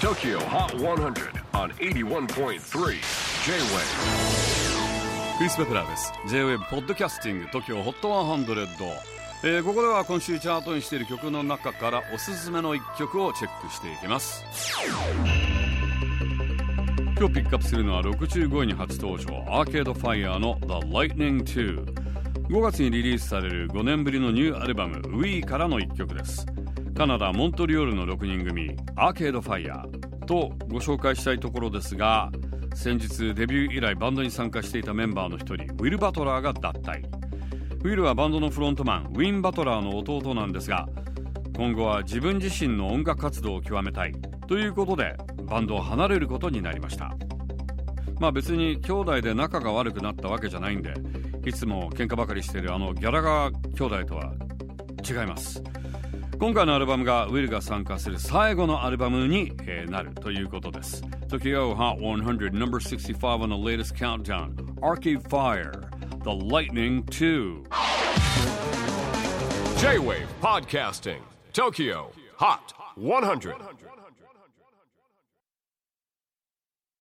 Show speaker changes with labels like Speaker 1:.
Speaker 1: TOKYO HOT 100 on 81.3 J-WAVE
Speaker 2: クリス・ベプラーです。 J-WAVE ポッドキャスティング TOKYO HOT 100、ここでは今週チャートにしている曲の中からおすすめの一曲をチェックしていきます。今日ピックアップするのは65位に初登場、アーケードファイヤーの The Lightning 2。 5月にリリースされる5年ぶりのニューアルバム We からの一曲です。カナダモントリオールの6人組アーケードファイヤーとご紹介したいところですが、先日デビュー以来バンドに参加していたメンバーの一人ウィル・バトラーが脱退。ウィルはバンドのフロントマンウィン・バトラーの弟なんですが、今後は自分自身の音楽活動を極めたいということでバンドを離れることになりました。別に兄弟で仲が悪くなったわけじゃないんで、いつも喧嘩ばかりしているギャラガー兄弟とは違います。今回のアルバムがウィルが参加する最後のアルバムに、なるということです。 TOKYO HOT 100 number 65 on the latest countdown, Arcade Fire, The Lightning 2.
Speaker 1: J-WAVE PODCASTING TOKYO HOT 100